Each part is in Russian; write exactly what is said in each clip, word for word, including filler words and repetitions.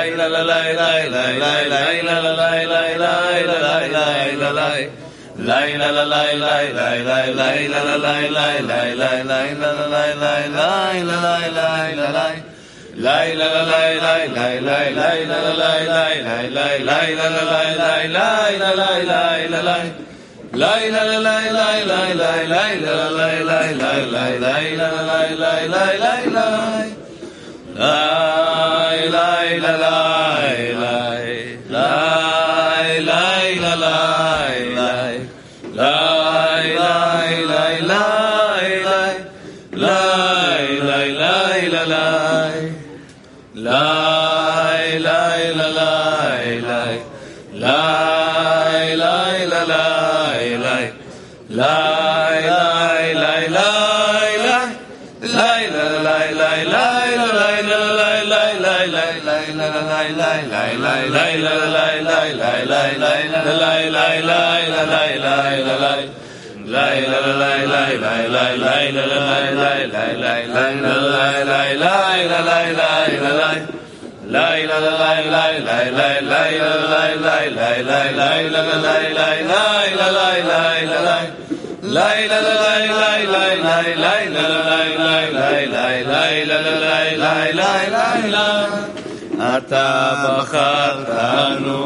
אתה בחרתנו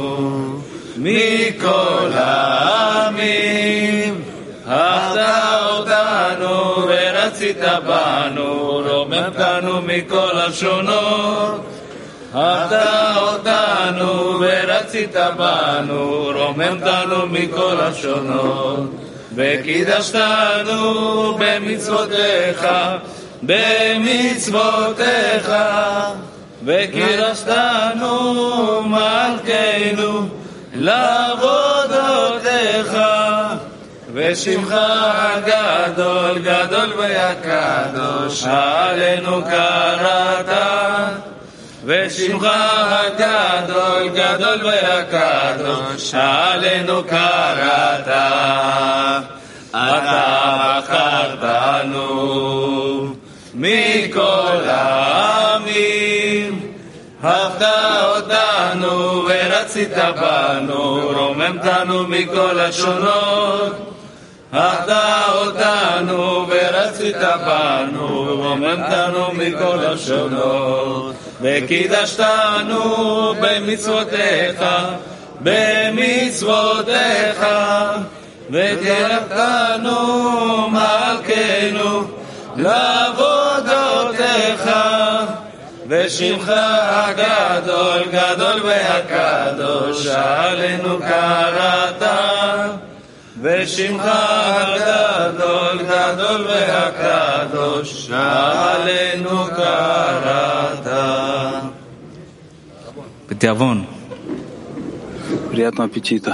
מכל העמים, אהבת אותנו ורצית בנו, רוממתנו מכל השונות. אהבת אותנו ורצית בנו, רוממתנו מכל השונות. וקידשתנו במצוותיך, במצוותיך, וקידשתנו מלכנו לעבודותיך. ושמך הגדול גדול והקדוש עלינו קראת, ושמך הגדול גדול והקדוש עלינו קראת. אתה בחרתנו מכל העמים, אהבת אותנו ורצית בנו, רוממתנו מכל השונות. אהבת אותנו ורצית בנו, רוממתנו מכל השונות. וקידשתנו במצוותיך, במצוותיך, וקרבתנו מלכנו לעבודותיך. ושמך הגדול גדול והקדוש עלינו קראת, ושמך הגדול גדול והקדוש עלינו קראת. בתיאבון. Приятного аппетита.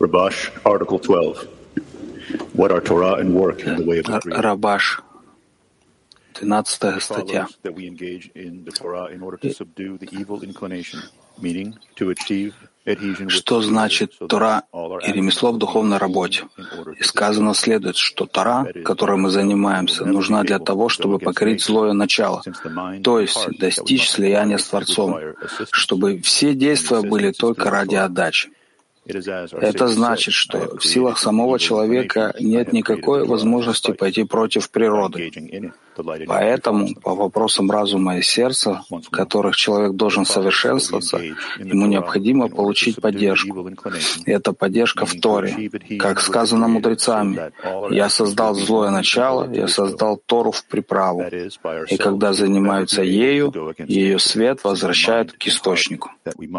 Rabash, Article twelve. What are Torah and work in the way of the Creator? Рабаш, двенадцатая статья. That we engage in the Torah in order to subdue the evil inclination, meaning to achieve adhesion with Что значит Тора и ремесло в духовной работе? И сказано следует, что Тора, которой мы занимаемся, нужна для того, чтобы покорить злое начало, то есть достичь слияния с Творцом, чтобы все действия были только ради отдачи. Это значит, что в силах самого человека нет никакой возможности пойти против природы. Поэтому по вопросам разума и сердца, в которых человек должен совершенствоваться, ему необходимо получить поддержку. И эта поддержка в Торе. Как сказано мудрецами, «Я создал злое начало, я создал Тору в приправу». И когда занимаются ею, ее свет возвращает к источнику.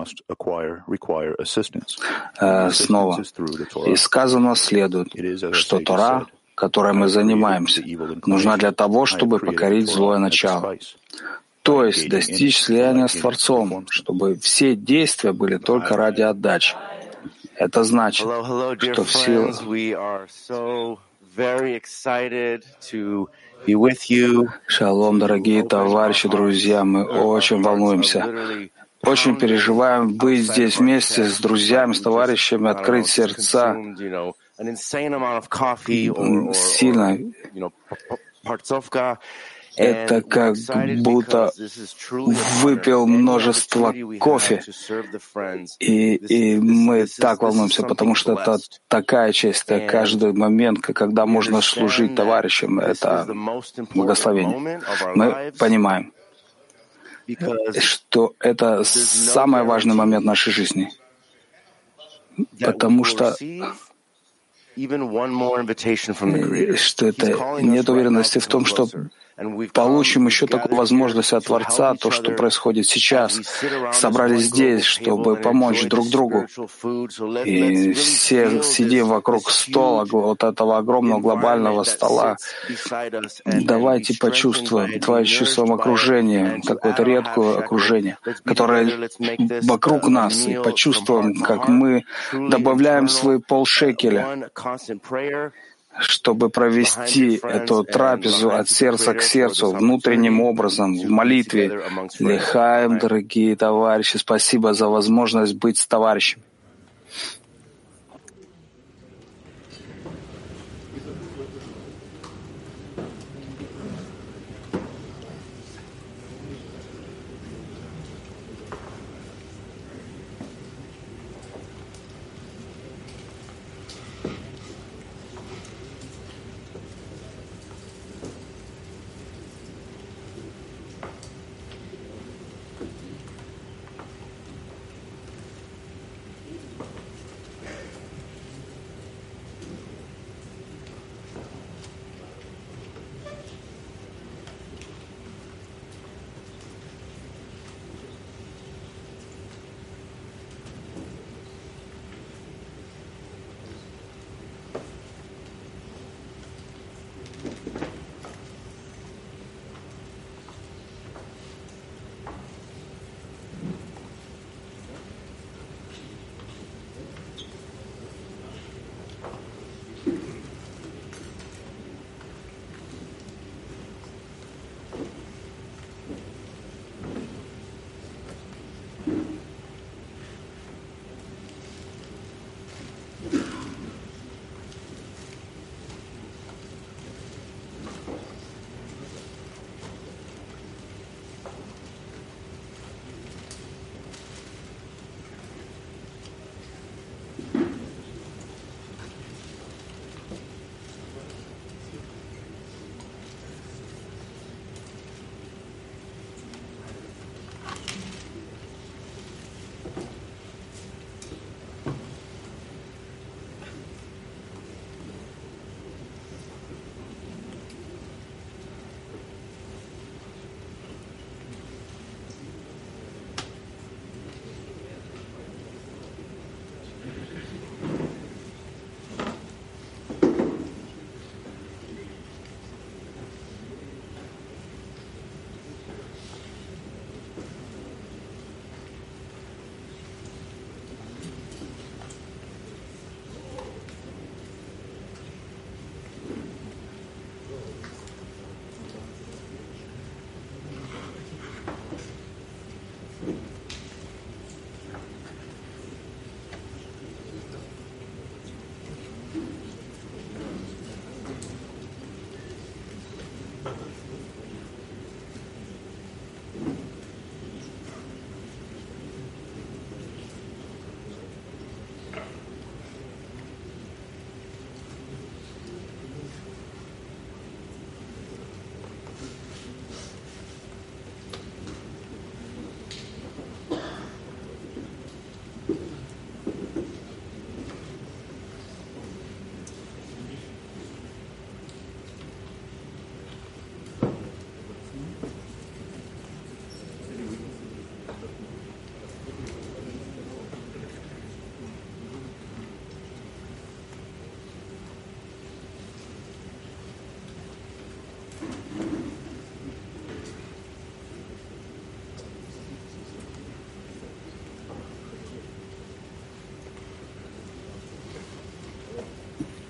Снова. И сказано следует, что Тора, которой мы занимаемся, нужна для того, чтобы покорить злое начало. То есть достичь слияния с Творцом, чтобы все действия были только ради отдачи. Это значит, что в силу... Шалом, дорогие товарищи, друзья, мы очень волнуемся. Очень переживаем быть здесь вместе с друзьями, с товарищами, открыть сердца. Сильно. Это как будто выпил множество кофе. И, и мы так волнуемся, потому что это такая честь, это каждый момент, когда можно служить товарищам. Это благословение. Мы понимаем, что это самый важный момент нашей жизни. Потому что, что это нет уверенности в том, что получим еще такую возможность от Творца, то, что происходит сейчас. Собрались здесь, чтобы помочь друг другу. И все сидим вокруг стола, вот этого огромного глобального стола. Давайте почувствуем, давайте чувствуем окружение, какое-то редкое окружение, которое вокруг нас, и почувствуем, как мы добавляем свои полшекеля, чтобы провести эту трапезу от сердца к сердцу, внутренним образом, в молитве. Лехаем, дорогие товарищи, спасибо за возможность быть с товарищем.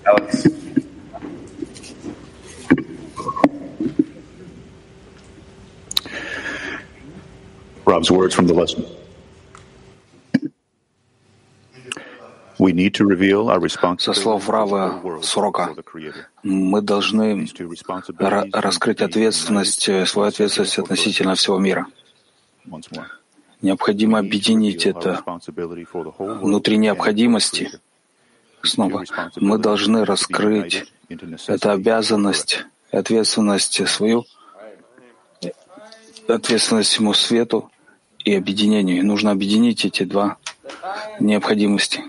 Rob's words from the lesson. We need to reveal our Со слов Рава с урока мы должны раскрыть ответственность, свою ответственность относительно всего мира. Необходимо объединить это внутри необходимости. Снова мы должны раскрыть эту обязанность и ответственность свою, ответственность всему свету и объединению. И нужно объединить эти два необходимости.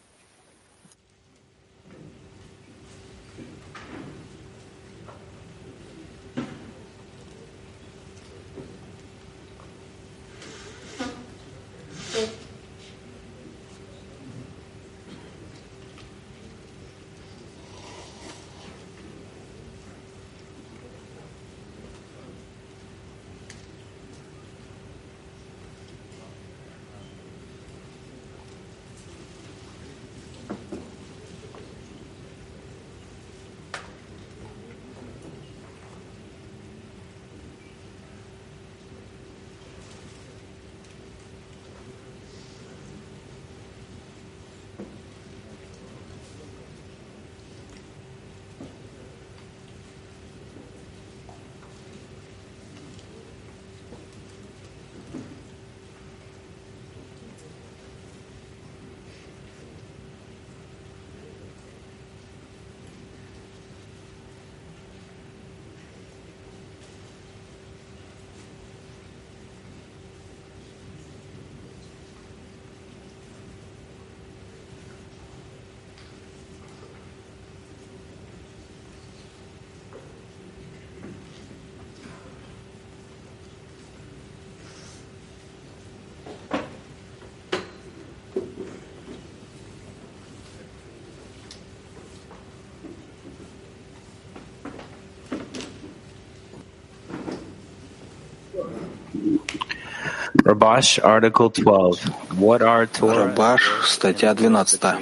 Rabash, Article twelve. What are Torah? Рабаш, статья двенадцатая.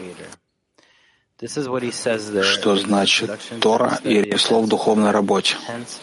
Что значит Тора и ремесло в духовной работе?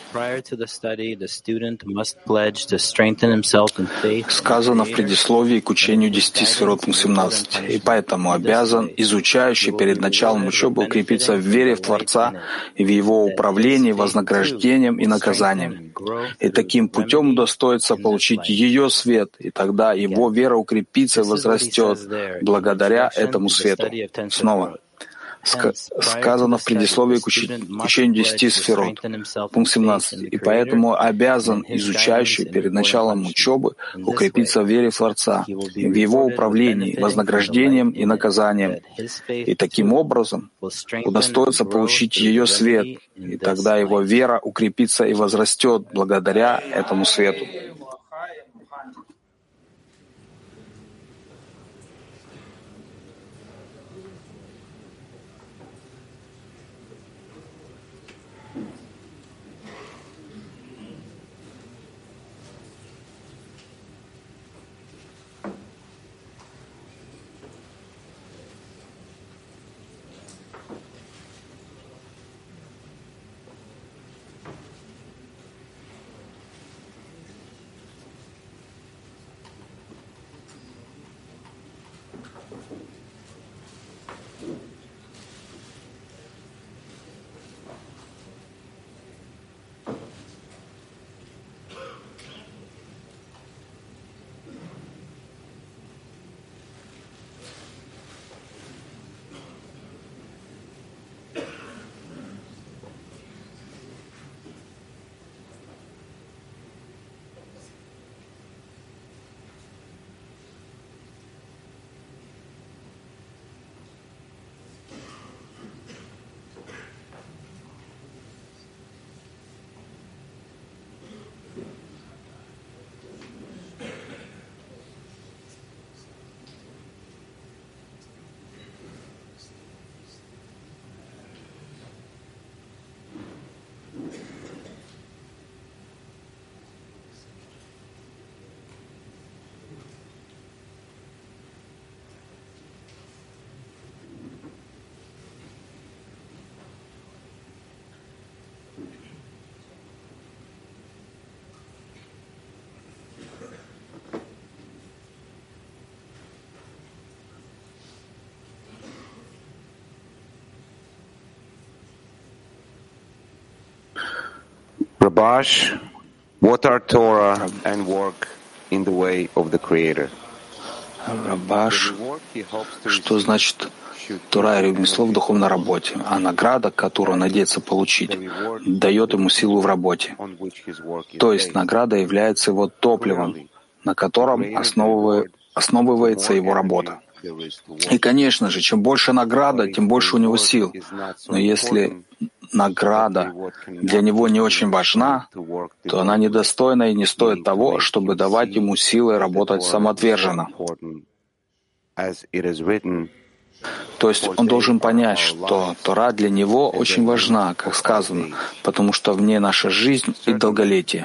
Сказано в предисловии к учению десяти сферот, пункт семнадцать. И поэтому обязан изучающий перед началом учебы укрепиться в вере в Творца и в Его управлении, вознаграждением и наказанием. И таким путем удостоится получить ее свет, и тогда его вера укрепится и возрастет благодаря этому свету. Снова. Сказано в предисловии к учению десяти сферот, пункт семнадцать. И поэтому обязан изучающий перед началом учебы укрепиться в вере в Творца, и в Его управлении, вознаграждением и наказанием. И таким образом удостоится получить ее свет, и тогда его вера укрепится и возрастет благодаря этому свету. Rabash, what are Torah and work in the way of the Creator? Рабаш, что значит Тора и ремесло в духовной работе, а награда, которую он надеется получить, дает ему силу в работе. То есть награда является его топливом, на котором основывается его работа. И, конечно же, чем больше награда, тем больше у него сил. Но если награда для него не очень важна, то она недостойна и не стоит того, чтобы давать ему силы работать самоотверженно. То есть он должен понять, что Тора для него очень важна, как сказано, потому что в ней наша жизнь и долголетие.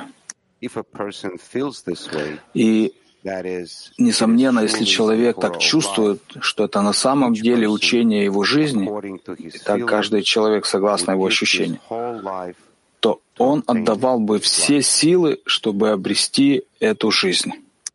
И несомненно, если человек так чувствует, что это на самом деле учение его жизни, и так каждый человек согласно его ощущениям, то он отдавал бы все силы, чтобы обрести эту жизнь.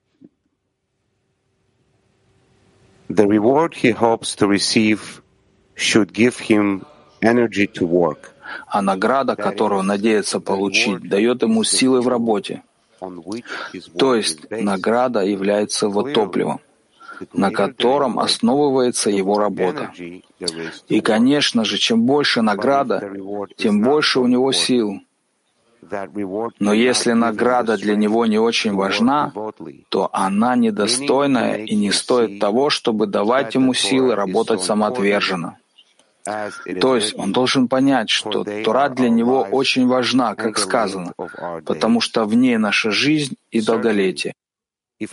The reward he hopes to receive should give him energy to work. А награда, которую он надеется получить, дает ему силы в работе. То есть награда является его топливом, на котором основывается его работа. И, конечно же, чем больше награда, тем больше у него сил. Но если награда для него не очень важна, то она недостойная и не стоит того, чтобы давать ему силы работать самоотверженно. То есть он должен понять, что Тора для него очень важна, как сказано, потому что в ней наша жизнь и долголетие. И,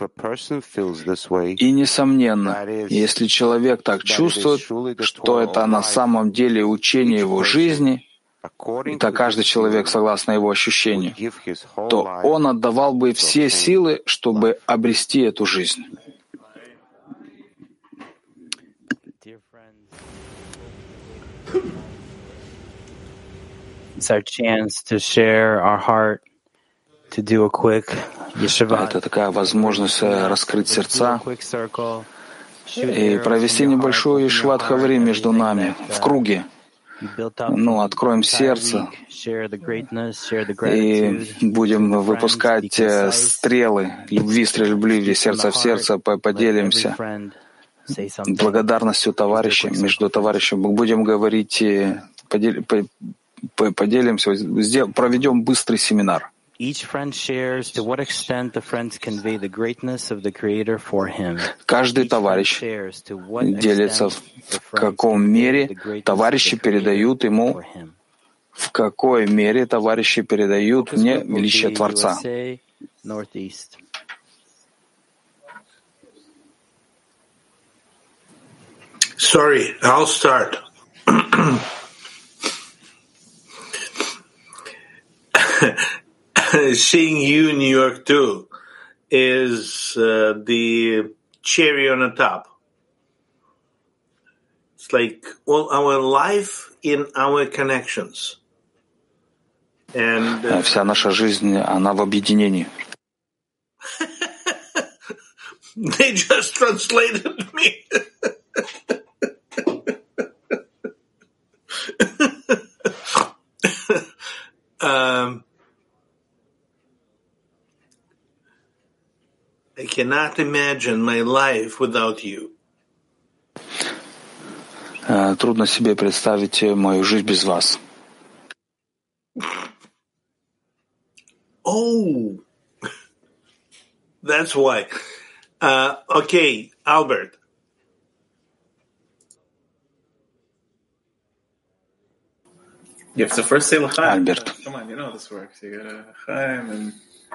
несомненно, если человек так чувствует, что это на самом деле учение его жизни, это каждый человек согласно его ощущению, то он отдавал бы все силы, чтобы обрести эту жизнь. It's our chance to share our heart, to do a quick yeshiva. Это такая возможность раскрыть сердца и провести небольшую ешват хаврим между нами в круге. Ну, откроем сердце и будем выпускать стрелы любви, стрельбы сердца в сердце, поделимся благодарностью товарища, между товарищами. Будем говорить, поделимся, проведем быстрый семинар. Каждый товарищ делится, в каком мере товарищи передают ему, в какой мере товарищи передают мне величие Творца. Sorry, I'll start. Seeing you in New York too is uh, the cherry on the top. It's like, well, our life in our connections. And uh, вся наша жизнь, она в объединении. They just translated me. um, I cannot imagine my life without you. Трудно себе представить мою жизнь без вас. Oh, that's why. Uh, okay, Albert. You have to first say l'chaim. Albert. Come on, you know how this works. You gotta l'chaim and.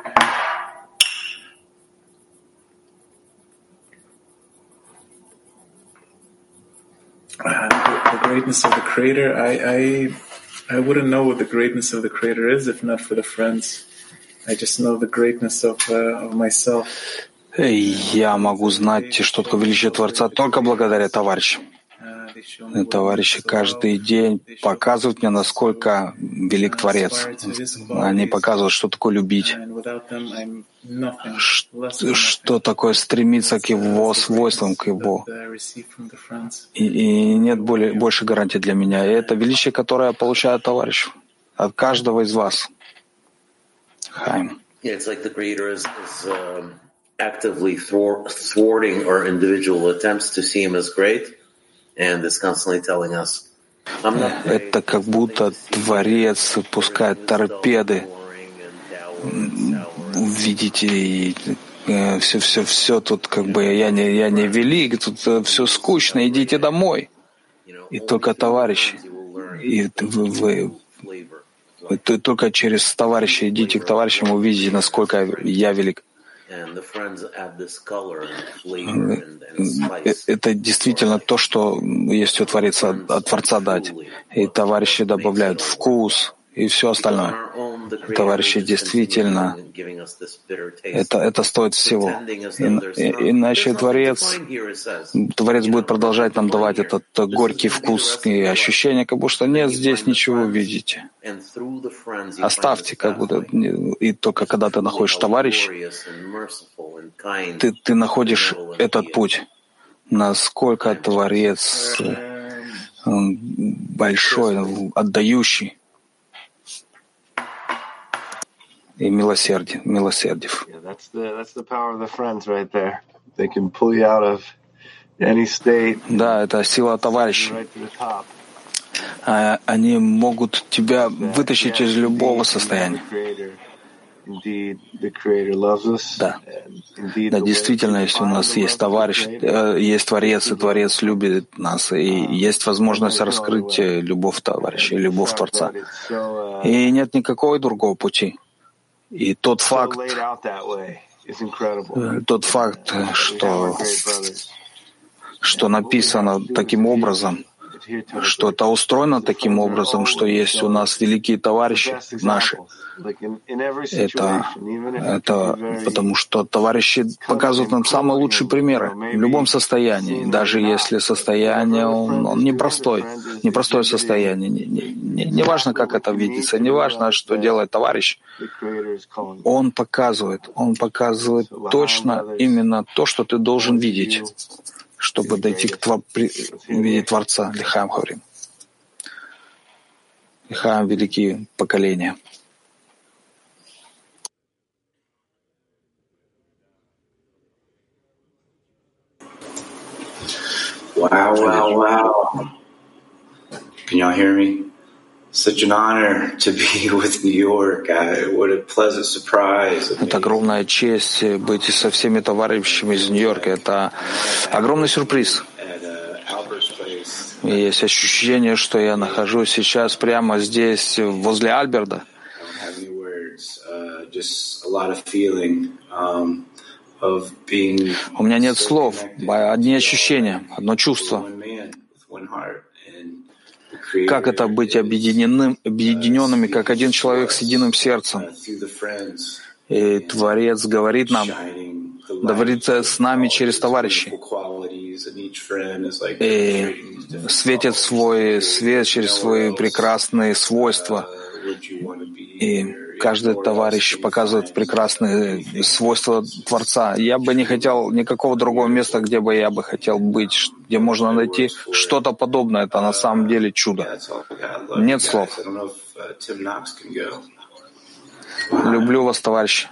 Uh, the, the greatness of the Creator. I, I, I wouldn't know what the greatness of the Creator is if not for the friends. I just know the greatness of uh, of myself. Я могу знать, что такое величие Творца только благодаря товарищам. Товарищи каждый день показывают мне, насколько велик Творец. Они показывают, что такое любить, что, что такое стремиться к Его свойствам, к Его. И, и нет более, больше гарантии для меня. И это величие, которое я получаю от товарищей, от каждого из вас. Хайм. It's like the creator is, is um, actively thwart, thwarting our individual attempts to see him as great, and is constantly telling us, I'm not great. Это как будто Творец пускает торпеды. Видите, все, все, все тут как бы я не, я не велик, тут все скучно, идите домой. И только товарищи, и вы, вы, вы только через товарища идите к товарищам, увидите, насколько я велик. Это действительно то, что есть у Творца, от Творца дать. И товарищи добавляют вкус и все остальное. Товарищи действительно, это, это стоит всего. И, и, иначе Творец, Творец будет продолжать нам давать этот горький вкус и ощущение, как будто нет, здесь ничего видите. Оставьте, как будто, и только когда ты находишь товарищ, ты, ты находишь этот путь. Насколько Творец большой, отдающий и милосердие, милосердив. Да, это сила товарища. Они могут тебя вытащить из любого состояния. Да. Да, действительно, если у нас есть товарищ, есть Творец, и Творец любит нас, и есть возможность раскрыть любовь товарища, любовь Творца. И нет никакого другого пути. И тот факт, тот факт, что, что написано таким образом, что это устроено таким образом, что есть у нас великие товарищи наши. Это, это потому что товарищи показывают нам самые лучшие примеры в любом состоянии, даже если состояние он, он непростой, непростое состояние. Не, не, не важно, как это видится, не важно, что делает товарищ. Он показывает, он показывает точно именно то, что ты должен видеть, чтобы дойти к твор... видеть Творца. Лихаем говорим. Лихаем великие поколения. Wow, wow, wow. Can y'all hear me? Such an honor to be with New York. I, what a pleasant surprise. Это огромная честь быть со всеми товарищами из Нью-Йорка. Это огромный сюрприз. И есть ощущение, что я нахожусь сейчас прямо здесь, возле Альберта. У меня нет слов, одни ощущения, одно чувство. Как это быть объединенным, объединенными, как один человек с единым сердцем? И Творец говорит нам, говорит с нами через товарищей. И светит свой свет через свои прекрасные свойства. И каждый товарищ показывает прекрасные свойства Творца. Я бы не хотел никакого другого места, где бы я бы хотел быть, где можно найти что-то подобное. Это на самом деле чудо. Нет слов. Люблю вас, товарищи.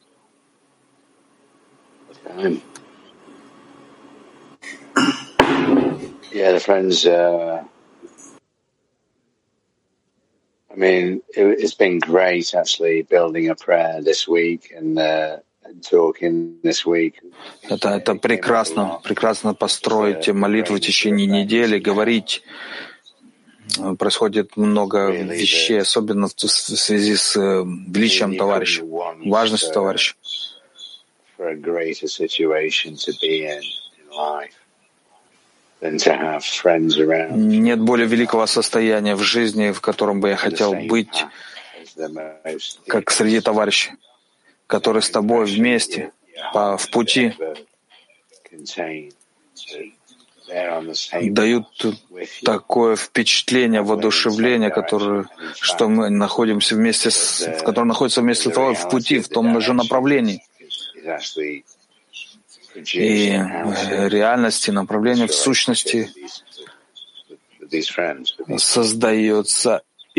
Yeah, the friends. Uh... I mean, it, it's been great actually building a prayer this week and, uh, and talking this week. Это, это прекрасно, прекрасно построить молитву в течение недели, говорить. Происходит много вещей, особенно в связи с величием товарища, важностью товарища. Нет более великого состояния в жизни, в котором бы я хотел быть, как среди товарищей, которые с тобой вместе, по, в пути, дают такое впечатление, воодушевление, которое, что мы находимся вместе, с, в котором находится вместе с тобой в пути, в том же направлении. И реальности, направление в сущности создается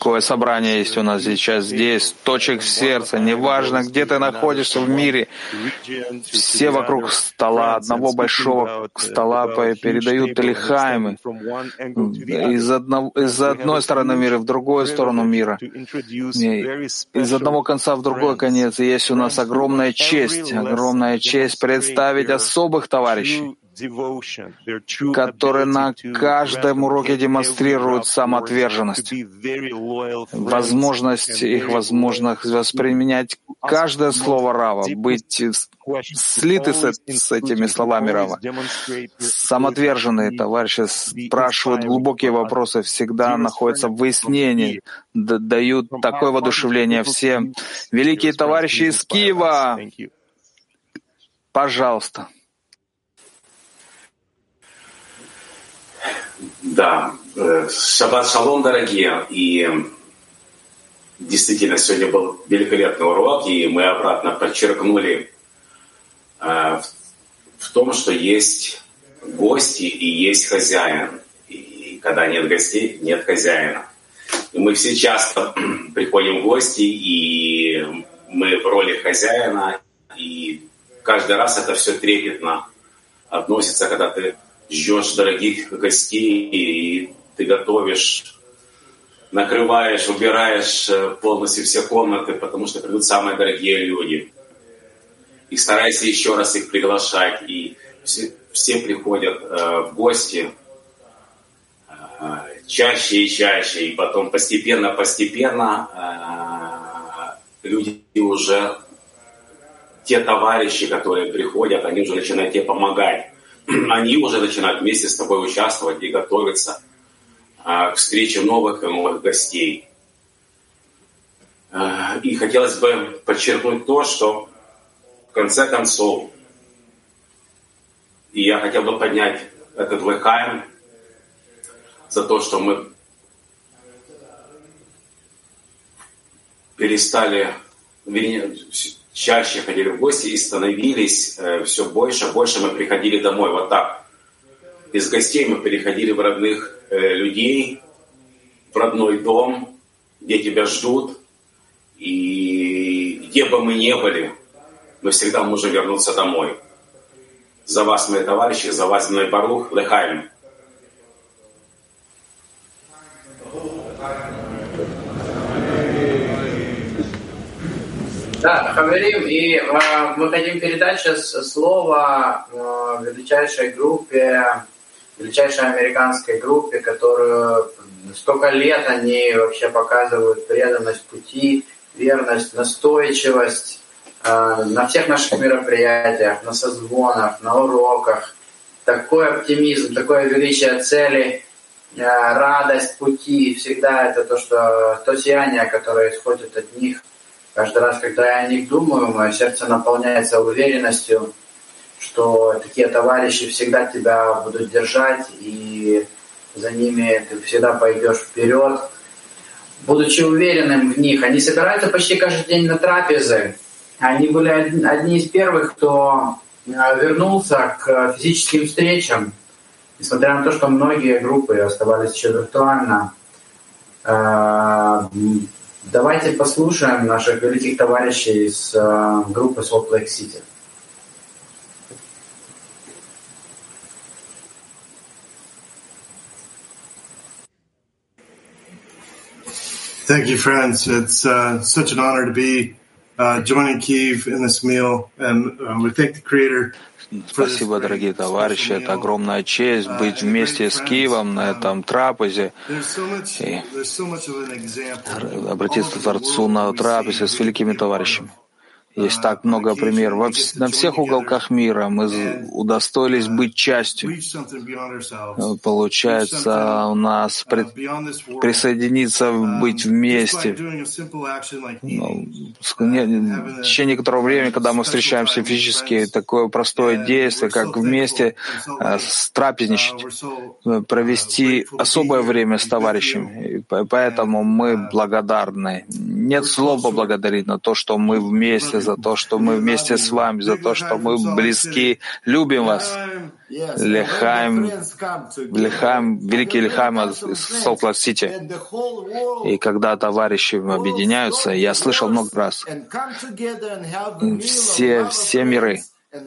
Какое собрание есть у нас сейчас здесь, точек сердца, неважно, где ты находишься в мире, все вокруг стола, одного большого стола передают лихаймы из, одного, из одной стороны мира в другую сторону мира, из одного конца в другой конец. И есть у нас огромная честь, огромная честь представить особых товарищей, которые на каждом уроке демонстрируют самоотверженность, возможность их возможность восприменять каждое слово Рава, быть слиты с, с этими словами Рава. Самоотверженные товарищи спрашивают глубокие вопросы, всегда находятся в выяснении, дают такое воодушевление всем. Великие товарищи из Киева, пожалуйста. Да, шаббат шалом, дорогие, и действительно сегодня был великолепный урок, и мы обратно подчеркнули э, в том, что есть гости и есть хозяин, и когда нет гостей, нет хозяина. И мы все часто приходим в гости, и мы в роли хозяина, и каждый раз это все трепетно относится, когда ты ждешь дорогих гостей, и ты готовишь, накрываешь, убираешь полностью все комнаты, потому что придут самые дорогие люди. И старайся еще раз их приглашать. И все, все приходят э, в гости э, чаще и чаще. И потом постепенно-постепенно э, люди уже, те товарищи, которые приходят, они уже начинают тебе помогать. Они уже начинают вместе с тобой участвовать и готовиться а, к встрече новых и новых гостей. А, и хотелось бы подчеркнуть то, что в конце концов, и я хотел бы поднять этот лехаим за то, что мы перестали чаще ходили в гости и становились э, все больше, больше мы приходили домой. Вот так. Из гостей мы переходили в родных э, людей, в родной дом, где тебя ждут. И где бы мы ни были, мы всегда можем вернуться домой. За вас, мои товарищи, за вас, мой Барух, лехаим. Да, Хаверим, и э, мы хотим передать сейчас слово э, величайшей группе, величайшей американской группе, которую столько лет они вообще показывают преданность пути, верность, настойчивость э, на всех наших мероприятиях, на созвонах, на уроках. Такой оптимизм, такое величие цели, э, радость пути, всегда это то, что, то сияние, которое исходит от них. Каждый раз, когда я о них думаю, мое сердце наполняется уверенностью, что такие товарищи всегда тебя будут держать, и за ними ты всегда пойдешь вперед. Будучи уверенным в них, они собираются почти каждый день на трапезы. Они были одни из первых, кто вернулся к физическим встречам, несмотря на то, что многие группы оставались еще виртуально. Давайте послушаем наших великих товарищей из uh, группы Salt Lake City. Thank you, friends. It's uh, such an honor to be uh, joining Kiev in this meal, and uh, we thank the Creator. Спасибо, дорогие товарищи. Это огромная честь быть вместе с Киевом на этом трапезе и обратиться к Творцу на трапезе с великими товарищами. Есть так много примеров. Во вс- на всех уголках мира мы удостоились быть частью. Получается, у нас пред... присоединиться, быть вместе. Ну, в течение некоторого времени, когда мы встречаемся физически, такое простое действие, как вместе э, трапезничать, провести особое время с товарищами. И поэтому мы благодарны. Нет слов поблагодарить на то, что мы вместе за то, что мы вместе с вами, за то, что мы близки, любим вас. Лехаим, Лехаим, великий Лехаим из Солт-Лейк-Сити. И когда товарищи объединяются, я слышал много раз, все, все миры,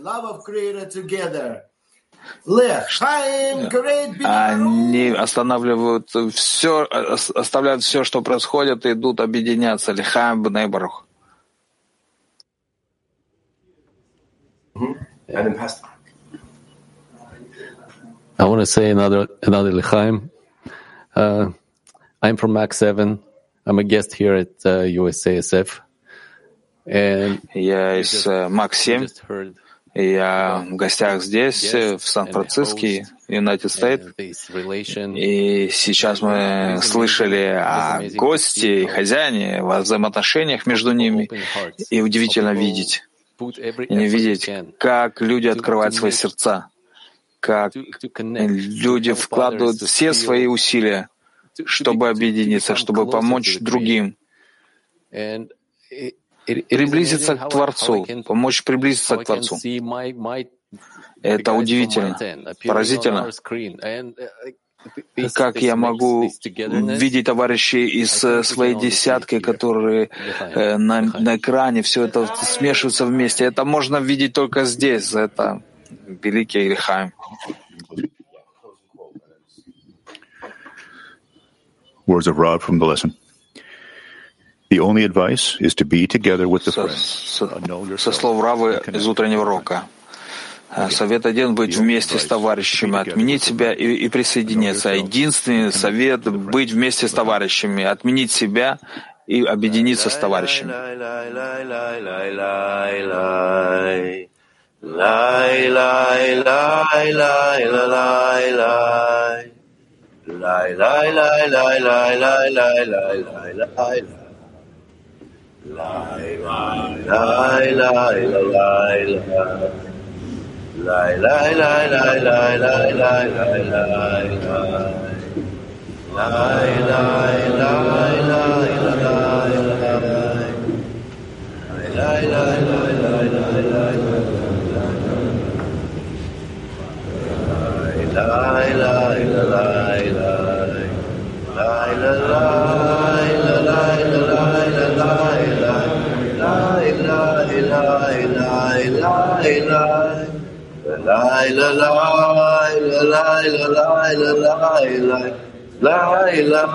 они останавливают все, оставляют все, что происходит, и идут объединяться. Лехаим бней барух. I want to say another another L'chaim. Uh, I'm from Mac seven. I'm a guest here at uh, U S A S F. And я из Мак семь. Я в гостях здесь, в Сан-Франциско, United States. И сейчас мы слышали о гости и хозяине, о взаимоотношениях между ними. И удивительно видеть, и не видеть, как люди открывают свои сердца, как люди вкладывают все свои усилия, чтобы объединиться, чтобы помочь другим, приблизиться к Творцу, помочь приблизиться к Творцу. Это удивительно, поразительно. Как я могу видеть товарищей из своей десятки, которые на, на экране, все это смешивается вместе. Это можно видеть только здесь. Это великий Лехаим. Words of Rav from the lesson. The only advice is to be together with the friends. Со слов Рава из утреннего урока. Совет один — быть вместе с товарищами, отменить себя и, и присоединиться. Единственный совет — быть вместе с товарищами, отменить себя и объединиться с товарищами. Lie, lie, lie, lie, lie, lie, lie, lie, lie, lie, lie, lie, lie, La la la la la la la la la la la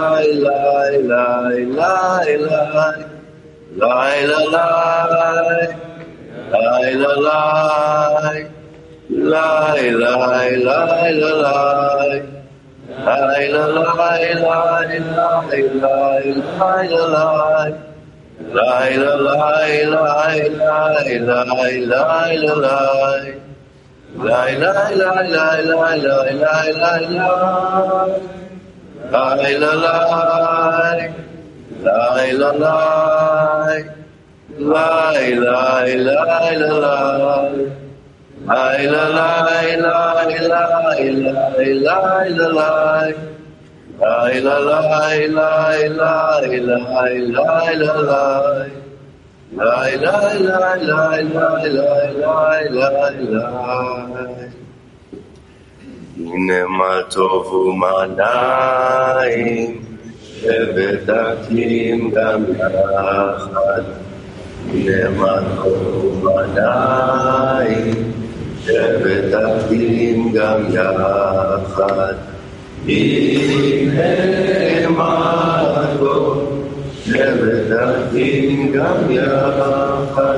Lie, lie, lie, lie, lie, lie, lie, lie, lie. Lie, la, lie. Lie, la, lie. Lie, lie, lie, la, lie. Lie, la, lie, lie, lie, lie, lie, la, lie. Lie, la, lie, lie, lie, lie, lie, la, lie. Lie, lie, lie, lie, lie, lie, lie, lie, lie. הנה מה טוב ומה נעים, שבטחים גם יחד. הנה מה טוב ומה נעים, שבטחים גם יחד. הנה מה טוב שבטחים גם יחד,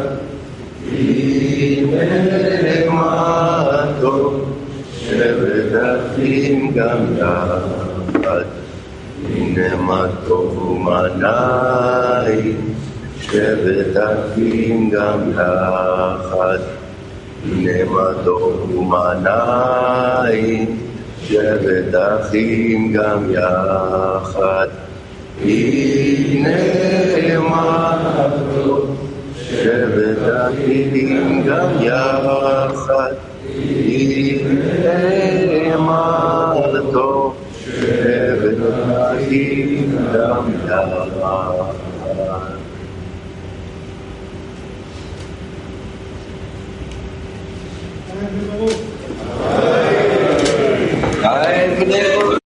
הנה מה טוב, שבטחים גם יחד, הנה מה טוב ומה נעים, שבטחים גם יחד, הנה מה טוב ומה נעים, שבטחים גם יחד. הנה מה טוב, שבטחים גם יחד. הנה מה טוב, שבטחים גם יחד. Ein Gnade.